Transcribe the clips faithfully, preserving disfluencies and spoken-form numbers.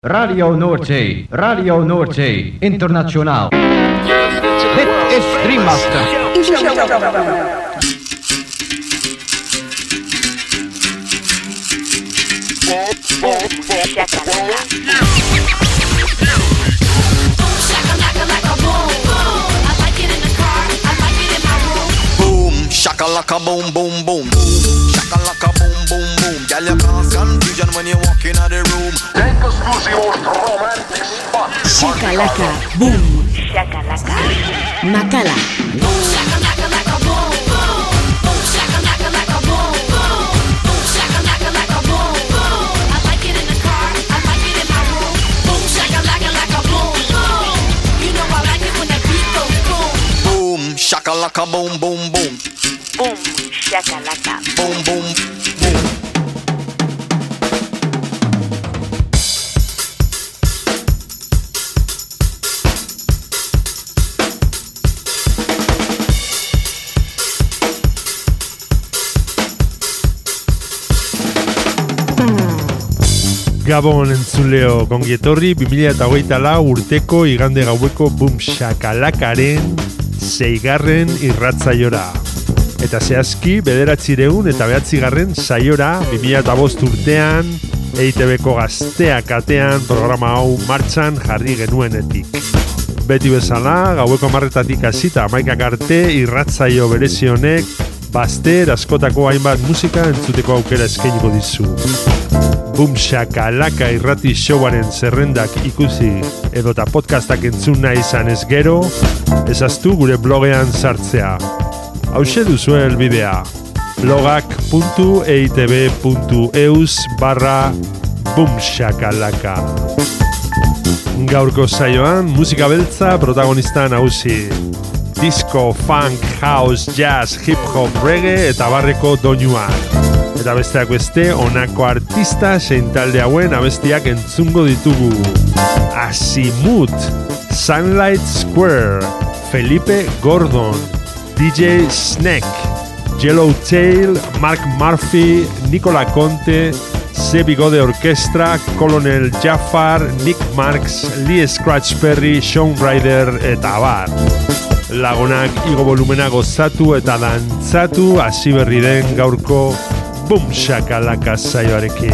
Radio Noordzee, Radio Noordzee, internationaal. Dit is Dreammaster. Shakalaka boom boom boom, shakalaka boom boom boom. Girl, you cause confusion when you walk in the room. Take us to the most romantic spot. Shakalaka boom, shakalaka Makala. Boom shakalaka laka boom boom, boom shakalaka laka boom boom, boom shakalaka laka boom boom. I like it in the car, I like it in my room. Boom shakalaka laka boom boom. You know I like it when that beat goes boom. Boom shakalaka boom boom boom. Boom, shakalaka. Boom, boom, boom. Gabon entzuleo gongietorri bi mila hogeita lau urteko igande gaueko Boom Shakalakaren seigarren irratzaiora. Eta zehazki, bederatzireun eta behatzigarren saiora bi mila bost urtean E I Te Beko Gazteak atean programa hau martxan jarri genuenetik. Beti bezala, gaueko hamarretatik hasita hamaikak arte irratzaio berezi honek bazter askotako hainbat musika entzuteko aukera eskainiko dizu. Boom Shakalaka irrati showaren zerrendak ikusi edota podcastak entzun nahi izan ez gero, ezaztu gure blogean sartzea. Hauxe duzu helbidea blogak puntu eitb puntu eus barra boomshakalaka. Gaurko saioan musika beltza protagonista nagusi. Disco, funk, house, jazz, hip-hop, reggae eta barreko doinuak. Eta besteak beste, honako artista zein talde hauen abestiak entzungo ditugu. Azimuth, Sunlight Square, Felipe Gordon, D J Snake, Yellowtail, Mark Murphy, Nicola Conte, Se Bigode Orkestra, Colonel Jafar, Nick Marks, Lee Scratch Perry, Shawn Ryder eta abar. Lagunak igo volumena gozatu eta dantzatu hasi berri den gaurko Boom Shakalaka saioarekin.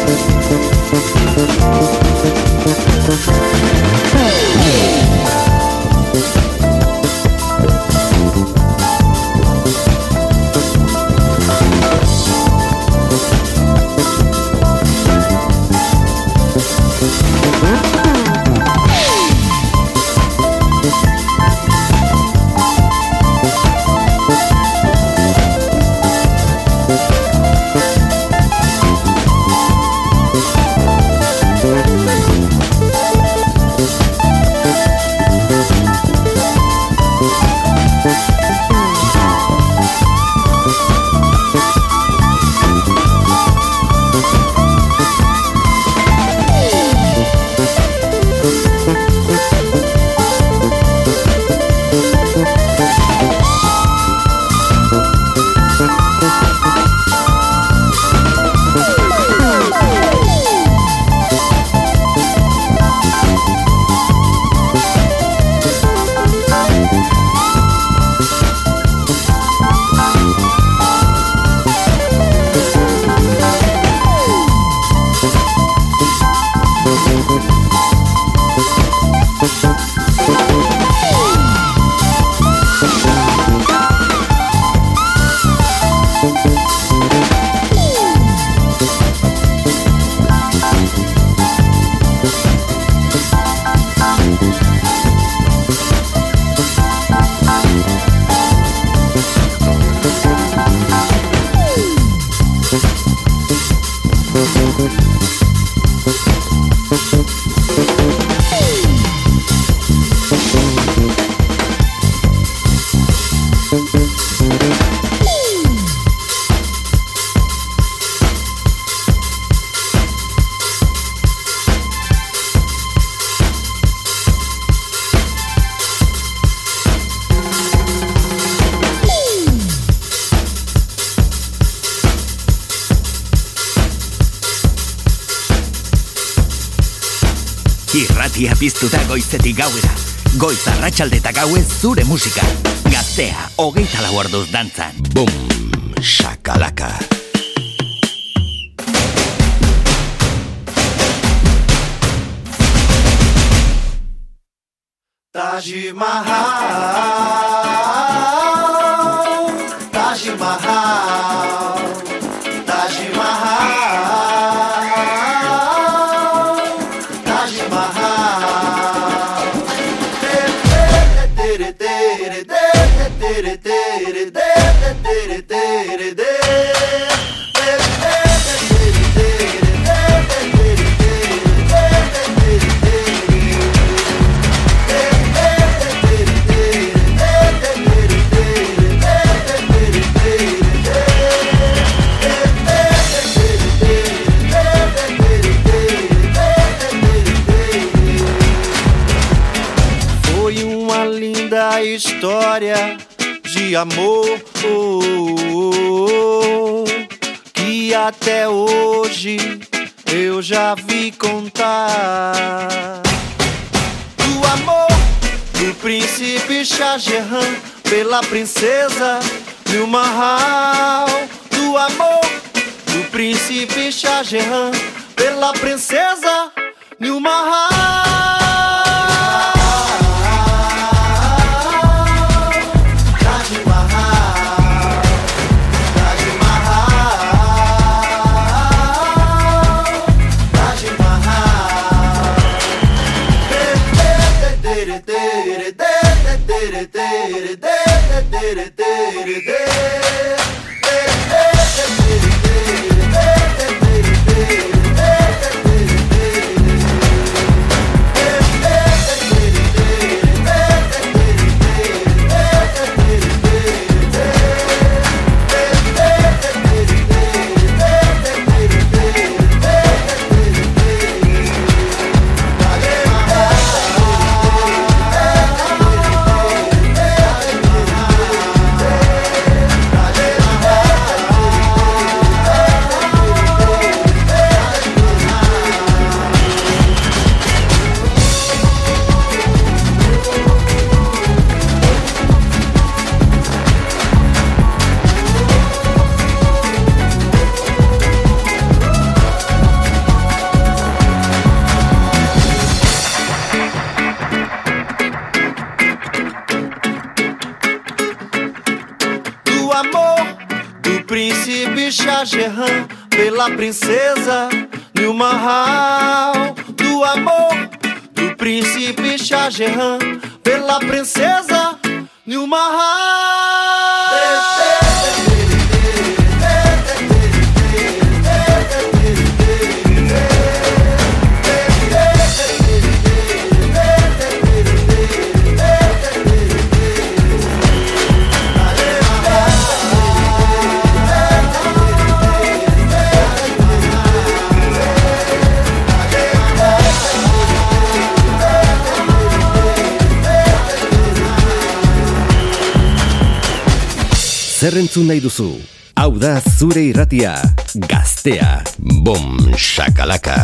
Irratia piztuta goizetik gauera. Goiz arratsalde eta gauez zure musika. Gaztea, hogeita lau orduz dantzan. Bum, shakalaka. Taj Mahal, Taj Mahal, Taj Mahal, Taj Mahal. Tere tere tere tere tere tere tere tere. História de amor que até hoje eu já vi contar. Do amor do príncipe Shah Jahan pela princesa Nil Mahal. Do amor do príncipe Shah Jahan pela princesa Nil Mahal. Shah Jahan, pela princesa no Mahal do amor do príncipe Shah Jahan, pela princesa no Mahal. Zer entzun nahi duzu? Hau da zure irratia, Gaztea, Bom Shakalaka.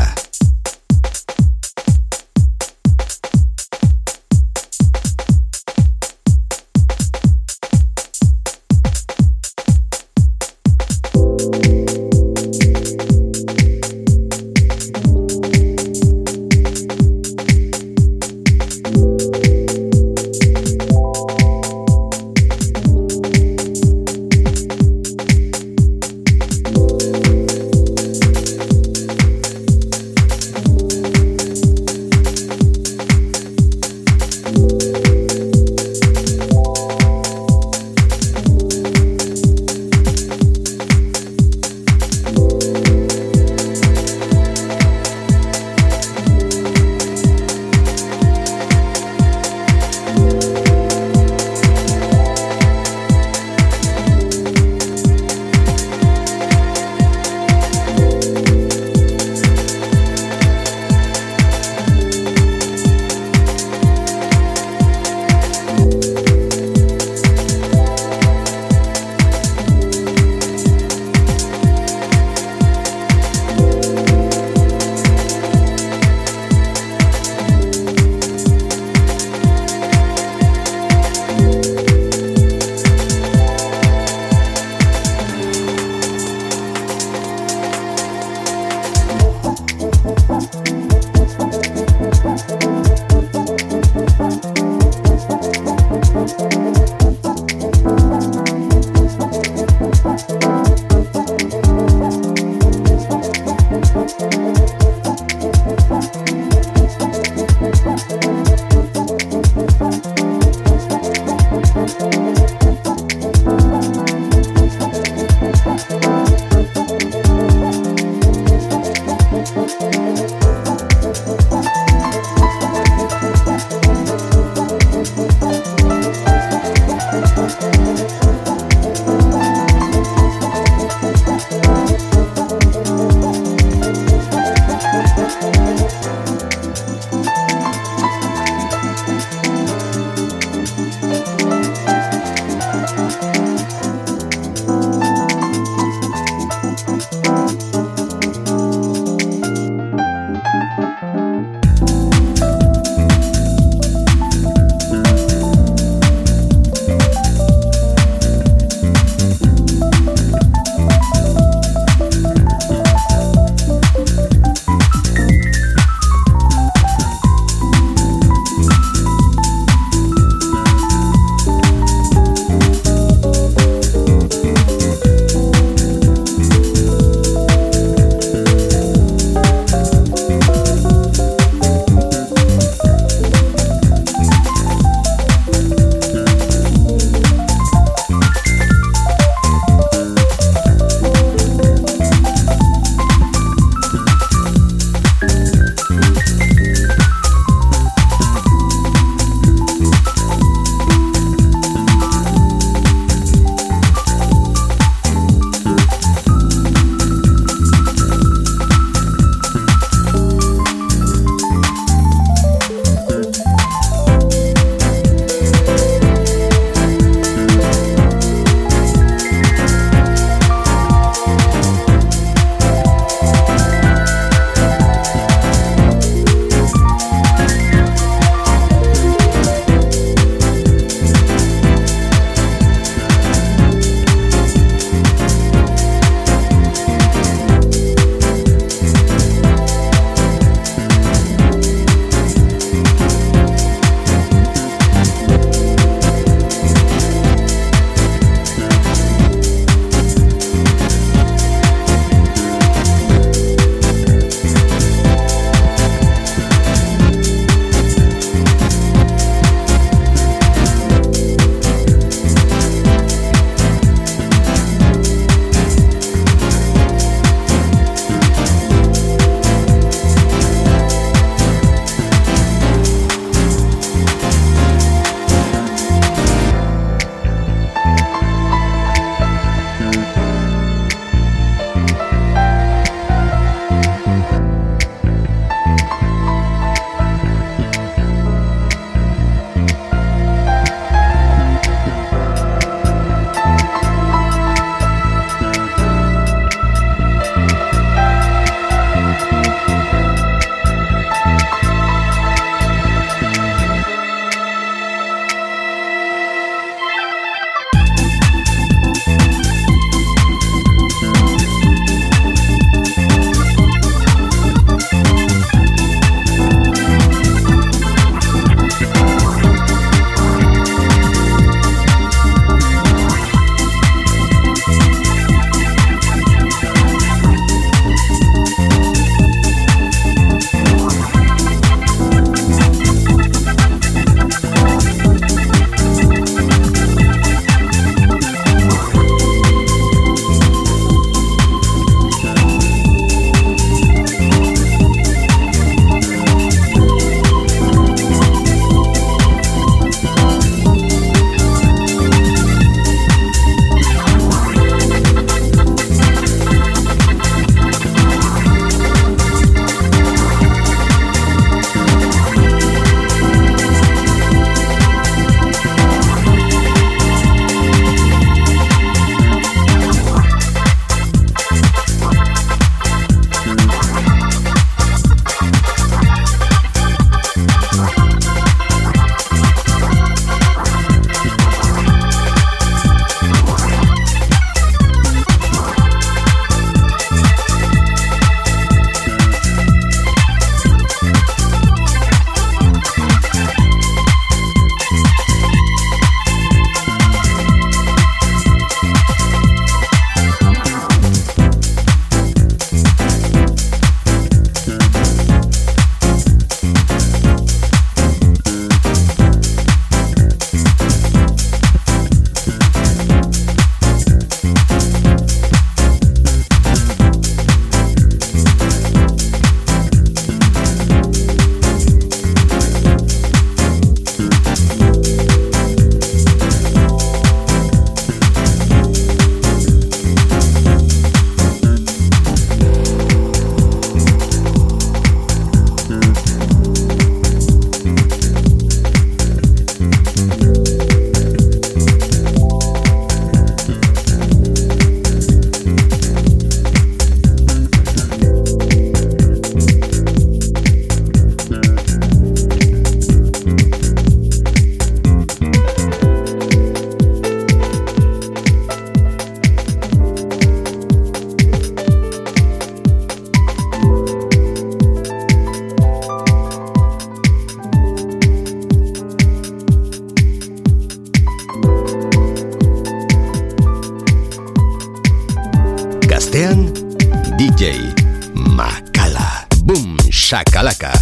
Boom Shakalaka.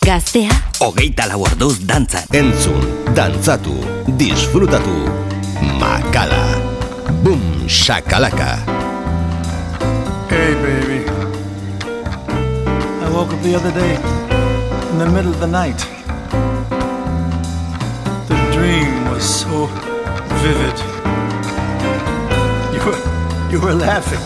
Gaztea, hogeita lau orduz dantzan. Entzun, dantzatu, disfrutatu. Makala. Boom shakalaka. Hey, baby. I woke up the other day in the middle of the night. The dream was so vivid. You were, you were laughing.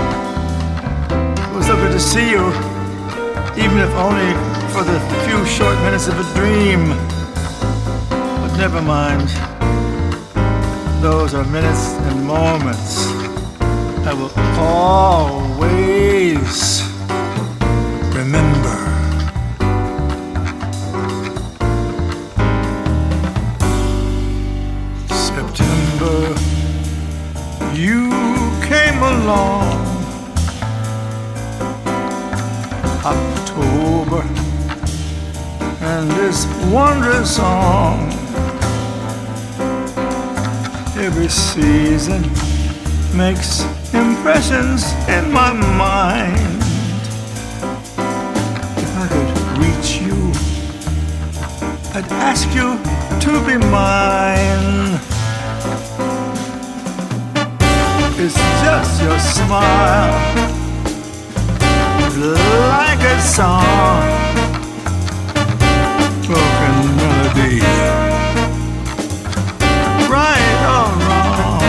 It was so good to see you, even if only for the few short minutes of a dream. But never mind. Those are minutes and moments I will always remember. September, you came along. October, and this wondrous song. Every season makes impressions in my mind. If I could reach you, I'd ask you to be mine. It's just your smile, like a song, broken melody. Right or wrong,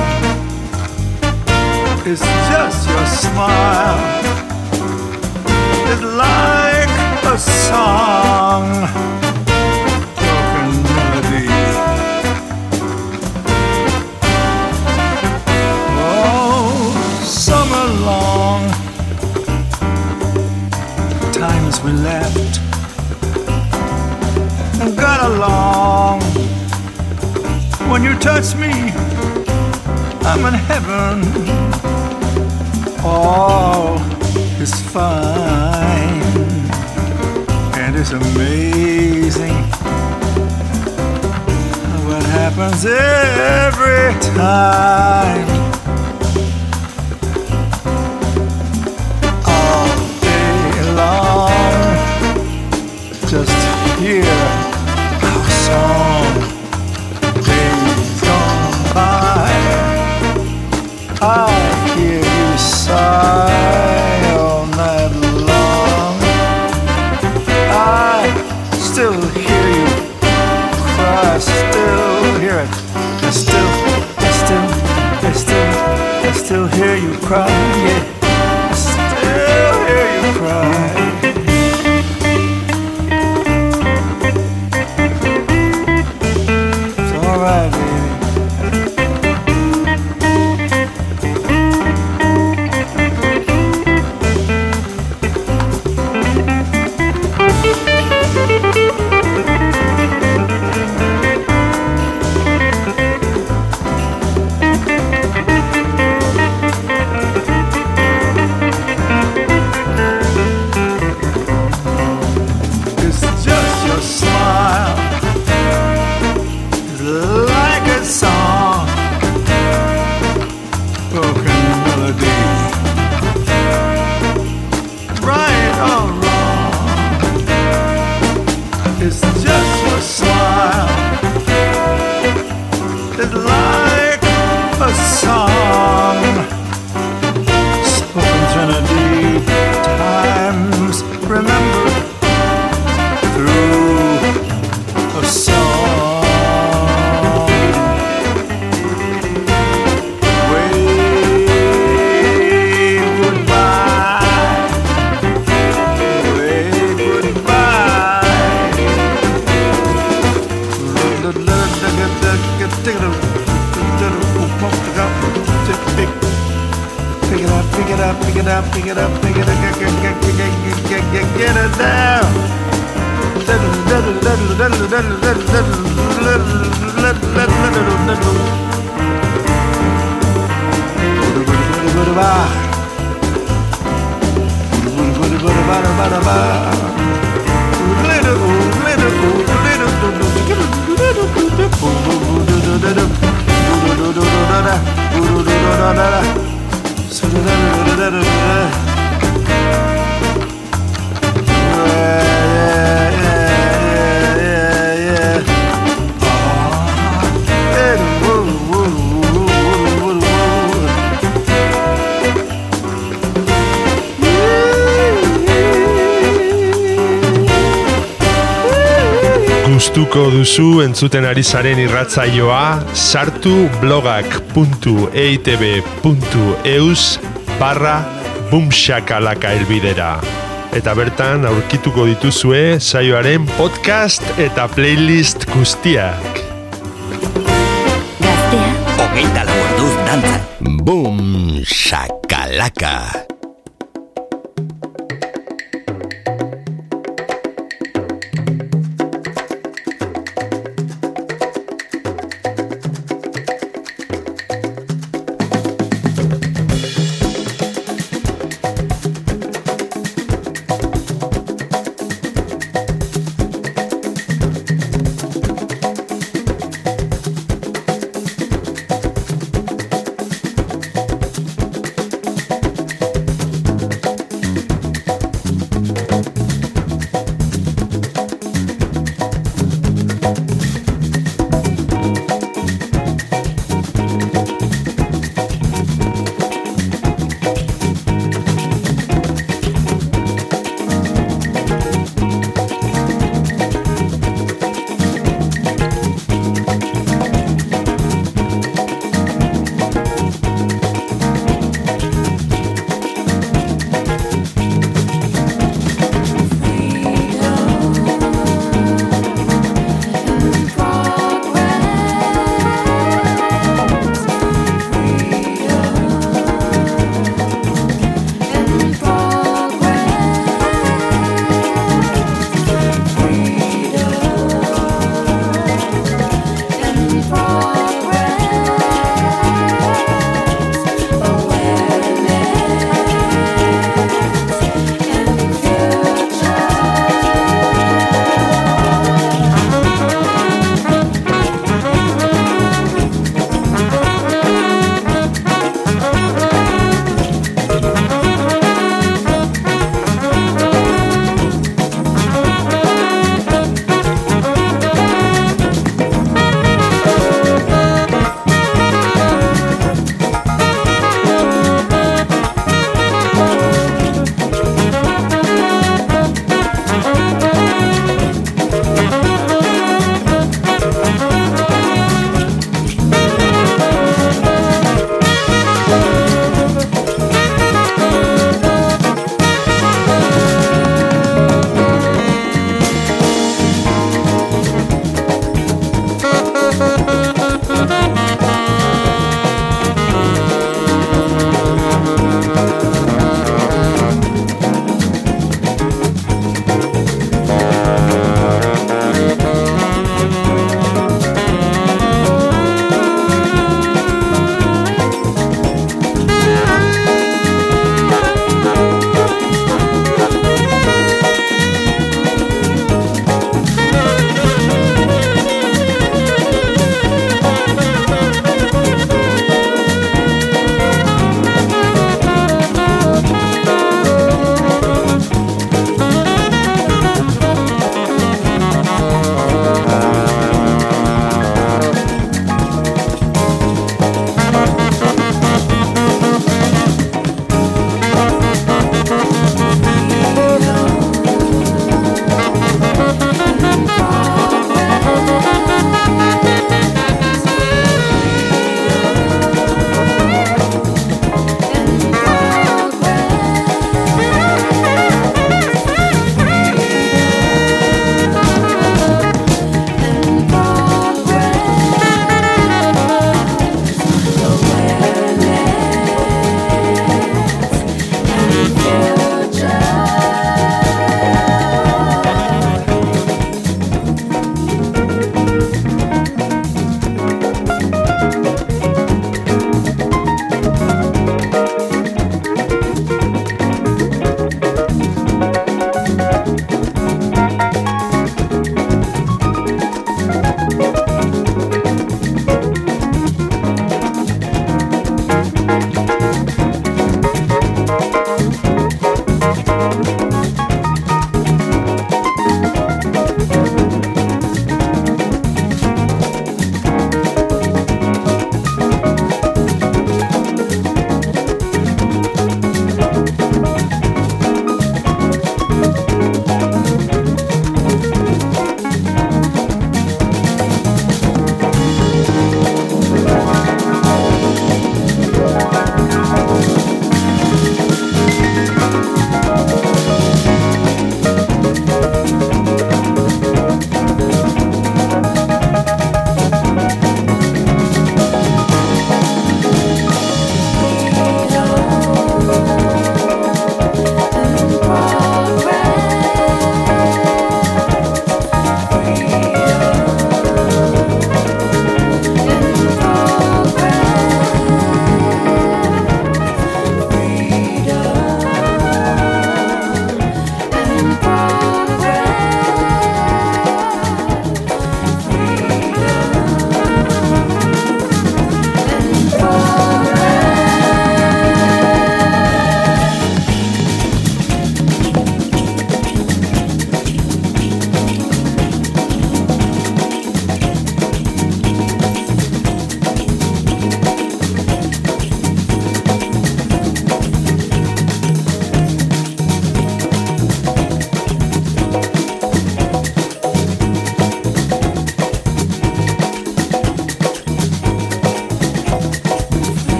it's just your smile. It's like a song, broken melody. Oh, summer long, times we laughed and got along. When you touch me, I'm in heaven. All is fine, and it's amazing what happens every time. All day long, just hear our song. I hear you sigh all night long. I still hear you cry, still hear it. I still, I still, I still, I still hear you cry, yeah. I still hear you cry. It's alright, baby. Yeah, yeah, yeah. gustuko duzu entzuten ari zaren irratzaioa, sartu blogak puntu eitb puntu eus barra bumshakalaka elbidera. Eta bertan aurkituko dituzue saioaren podcast eta playlist guztiak. Gaztea, Hogeita lau orduz dantzan. Boom Shakalaka.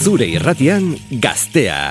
Zure irratian Gaztea.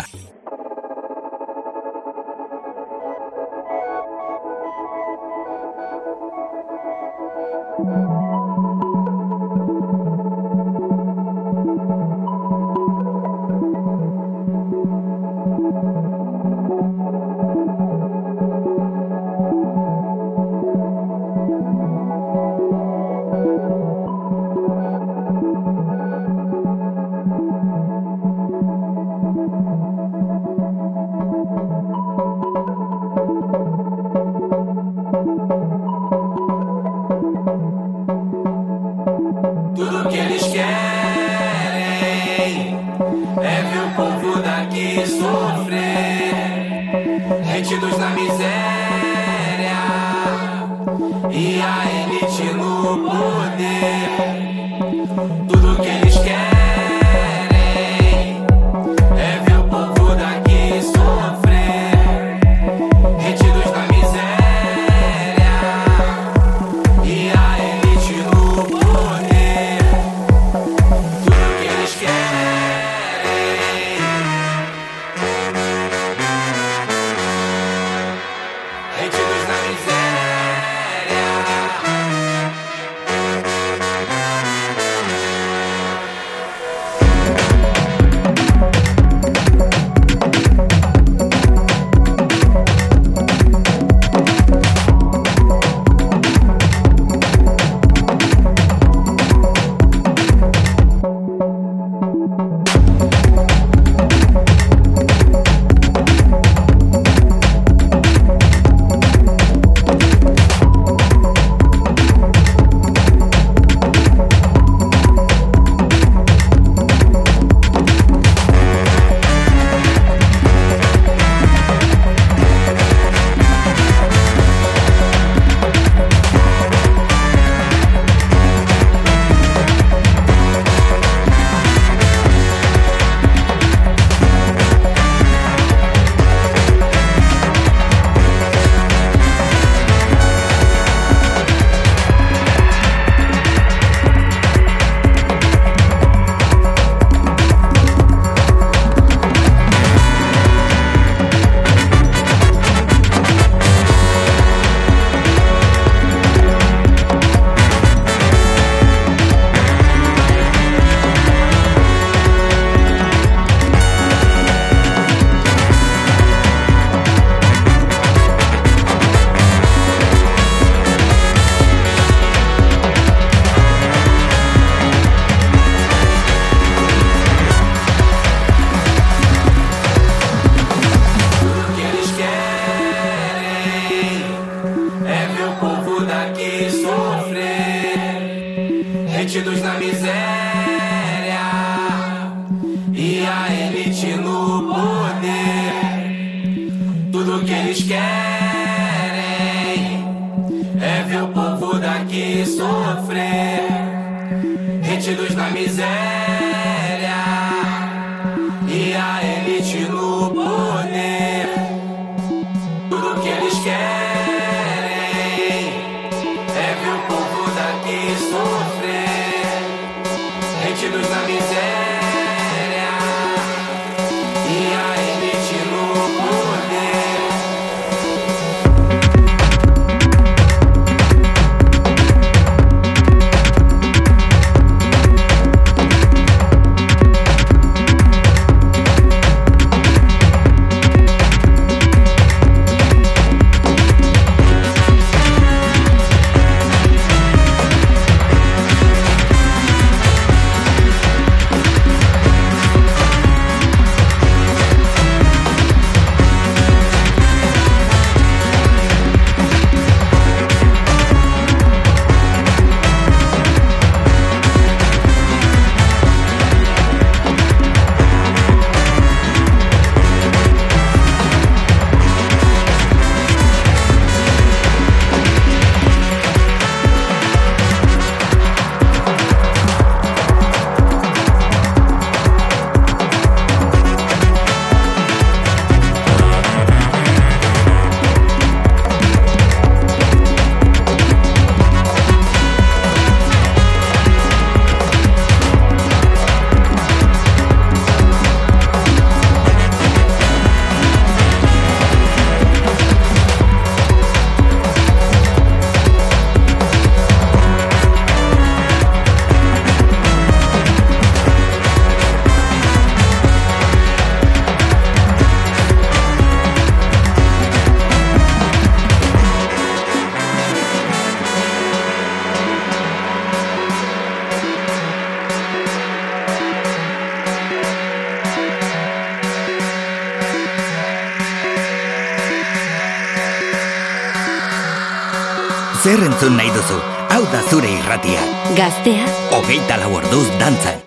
zer entzun nahi duzu? Hau da zure irratia. Gaztea. Hogeita lau orduz dantzan.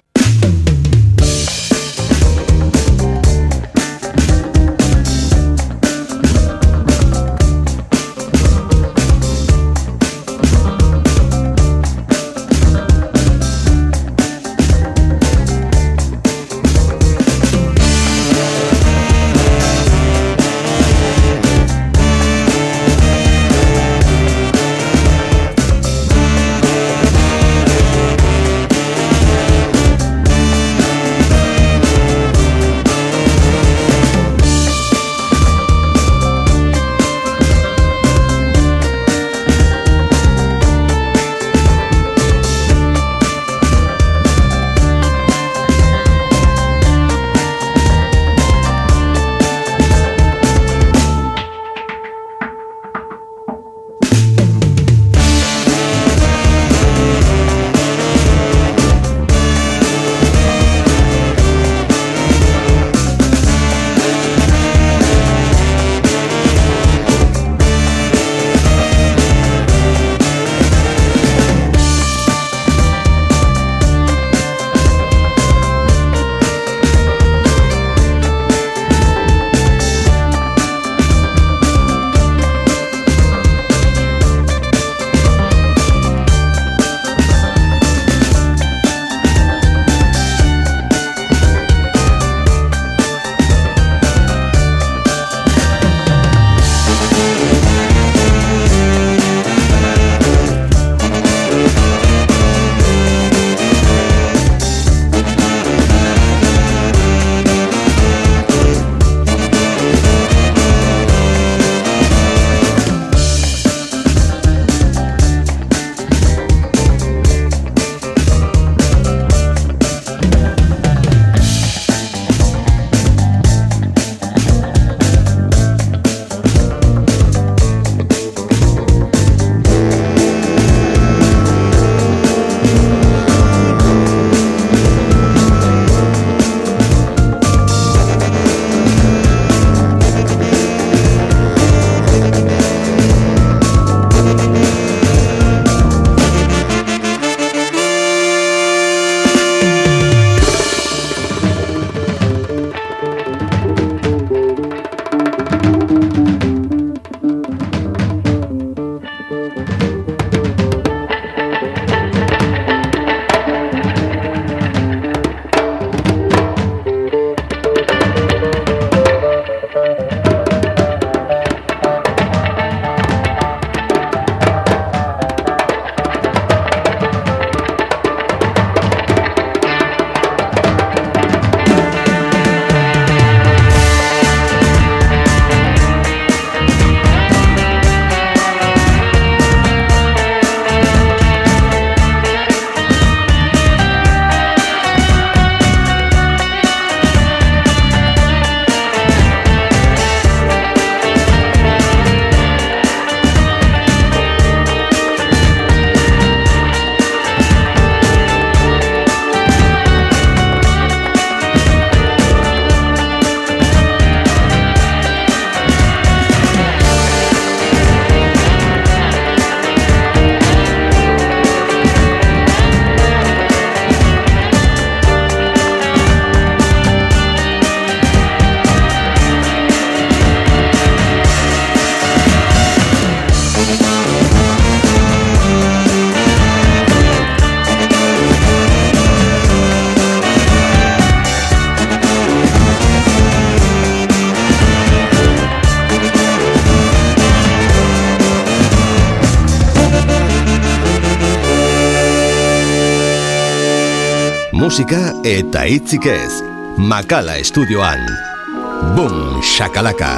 Musika eta hitzik ez. Makala estudioan. Boom shakalaka.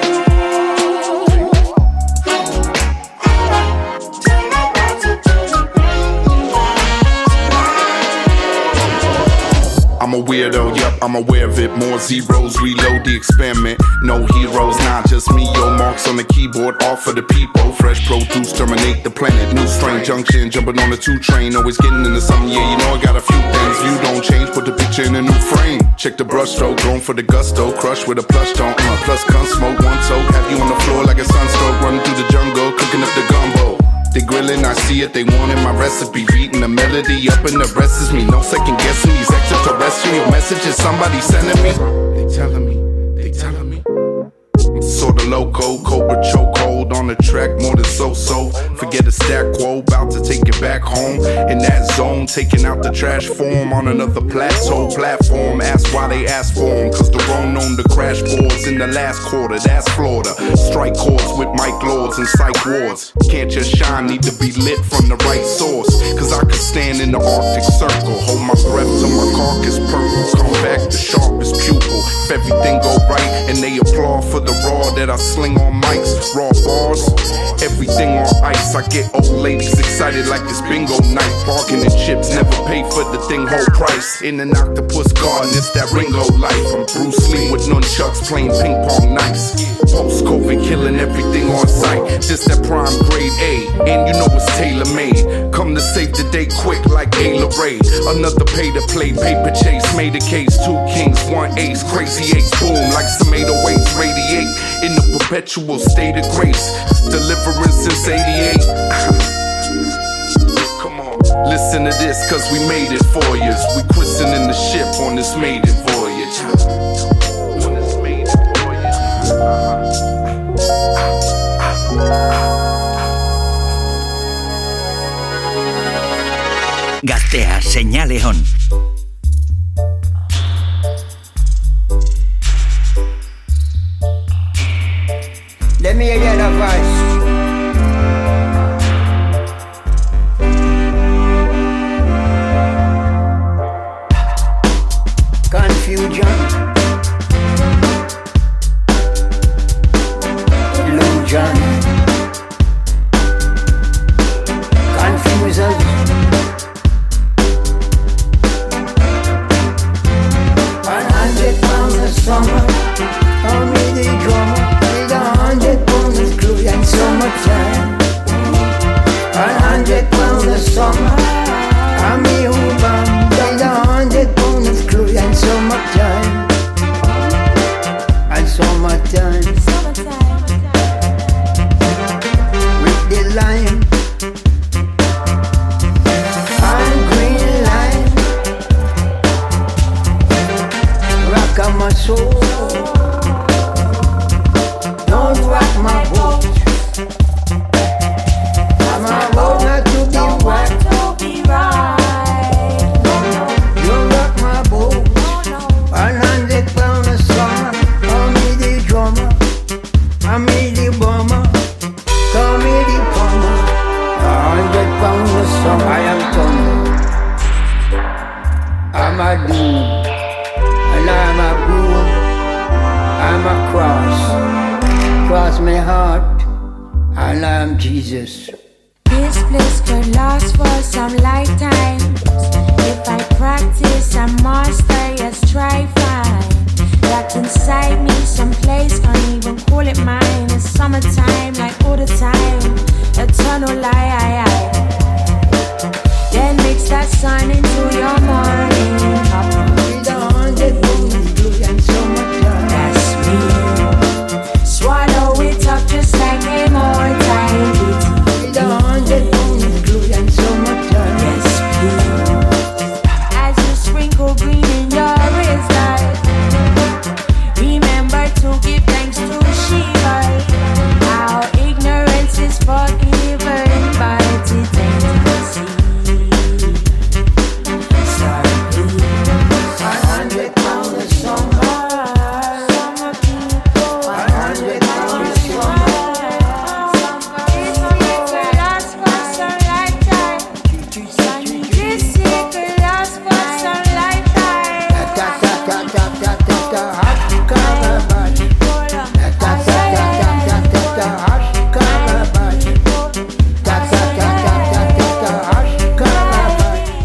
Thank you. I'm a weirdo, yup, I'm aware of it. More zeros, reload the experiment. No heroes, not just me. Yo, marks on the keyboard, all for the people. Fresh produce, terminate the planet. New strain, junction, jumping on the two train. Always getting into something, yeah, you know I got a few things. View don't change, put the picture in a new frame. Check the brush stroke, going for the gusto. Crush with a plush tone, uh, plus gun smoke. One toke, have you on the floor like a sunstroke. Running through the jungle, cooking up the gumbo. They grilling, I see it, they wanted my recipe. Beating the melody up and the rest is me. No second guessing these extraterrestrial messages somebody sending me. They telling me, they telling me. I'm sorta loco, Cobra chokehold on the track, more than so-so. Forget a stack quo, about to take it back home. In that zone, taking out the trash form on another plateau platform. Ask why they ask for them, cause the road known to crash boards in the last quarter. That's Florida. Strike chords with Mike Lords and psych wards. Can't just shine, need to be lit from the right source. Cause I could stand in the Arctic Circle, hold my breath till my carcass purple. Come back the sharpest pupil. If everything go right and they applaud for the raw that I sling on mics, raw bars, everything on ice. I get old ladies excited like it's bingo night. Bargaining chips, never pay for the thing whole price. In an octopus garden, it's that Ringo life. I'm Bruce Lee with nunchucks playing ping pong nights. Post-COVID killing everything on sight. Just that prime grade A, and you know it's tailor-made. Come to save the day quick like Ayla Ray. Another pay to play, paper chase, made a case. Two kings, one ace, crazy eights, boom like some eight oh eights radiate. In the perpetual state of grace, deliverance since eighty-eight. Come on, listen to this, cause we made it for you. We christening the ship on this maiden voyage. On this maiden voyage. Gaztea, señale on. Let me hear your voice. Confusion, illusion, confusers. One hundred pounds of summer, call me the drummer. And summertime, one hundred pounds of summer. I'm a woman, there's a hundred pounds of clue and summertime, and summertime, with the lime and green line, rock on my soul. Don't rock my boat. I'm about not to be right. You rock my boat. One hundred pounds of summer. Call me the drummer. Call me the bomber. Call me the plumber. A hundred pounds of summer. I am thunder. I'm a doom. And I'm a boom. I'm a cross. Cross my heart, and I'm Jesus. This bliss could last for some lifetimes. If I practice and master, yes, try find. Locked inside me, someplace, can't even call it mine. It's summertime, like all the time. Eternal lie, then mix that sun into your morning. With a hundred moons, blue and summertime. That's me. Swallow it up just like a mortality. With a hundred moons, blue and summertime. Yes, please. As you sprinkle green in your wisdom, remember to give thanks to Shiva. Our ignorance is forgiven, but it ain't easy.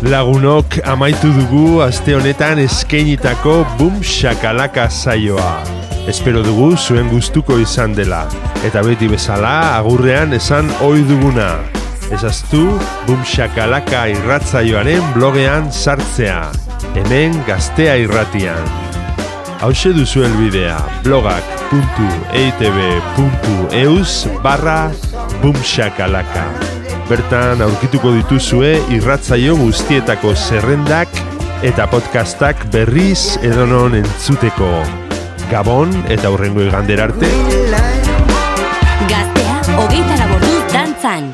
Lagunok, amaitu dugu aste honetan eskainitako Boom Shakalaka saioa. Espero dugu zuen gustuko izan dela. Eta beti bezala, agurrean esan ohi duguna. Ezaztu Boom Shakalaka irratzaioaren blogean sartzea. Hemen Gaztea irratian. Hauxe duzu helbidea, blogak puntu eitb puntu eus barra Boom Shakalaka. Bertan aurkituko dituzue irratzaio guztietako zerrendak eta podcastak berriz edonon entzuteko. Gabon eta hurrengo igandera arte. Gaztea, hogeita laborduz dantzan.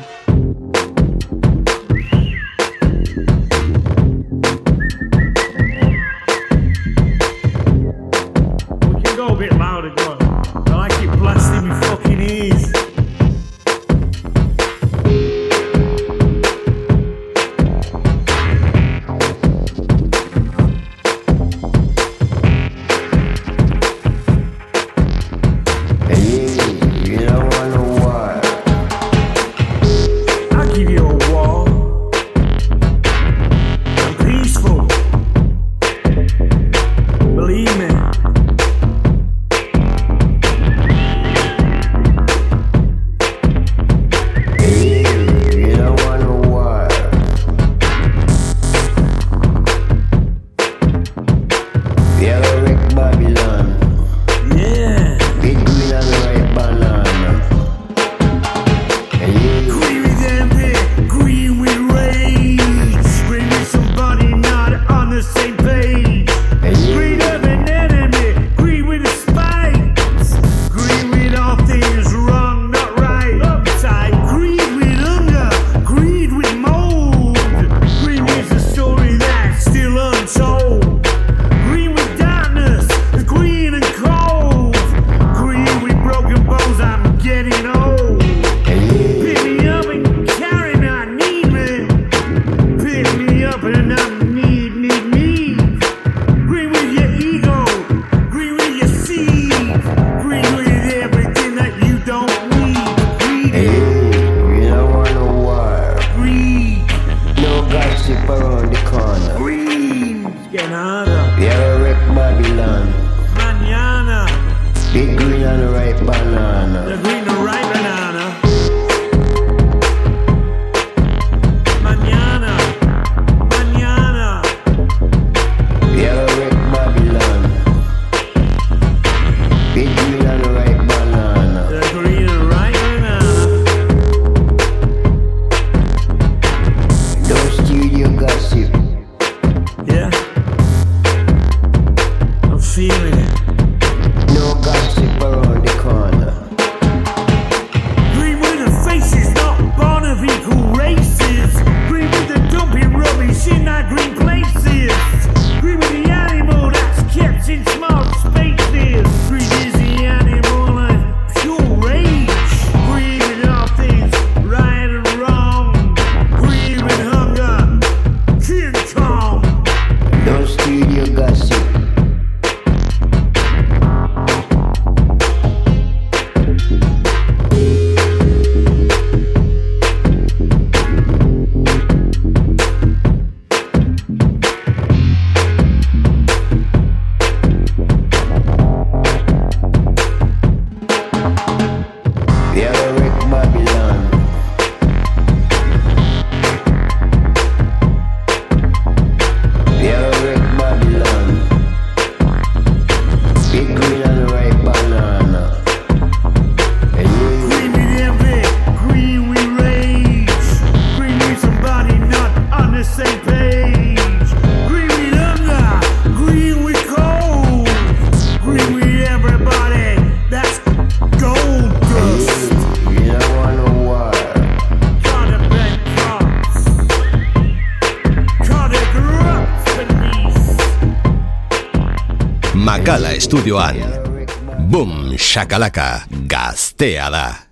We can go a bit louder, go on. I like it blasting me fucking ears. Makala estudioan Boom Shakalaka Gaztea da.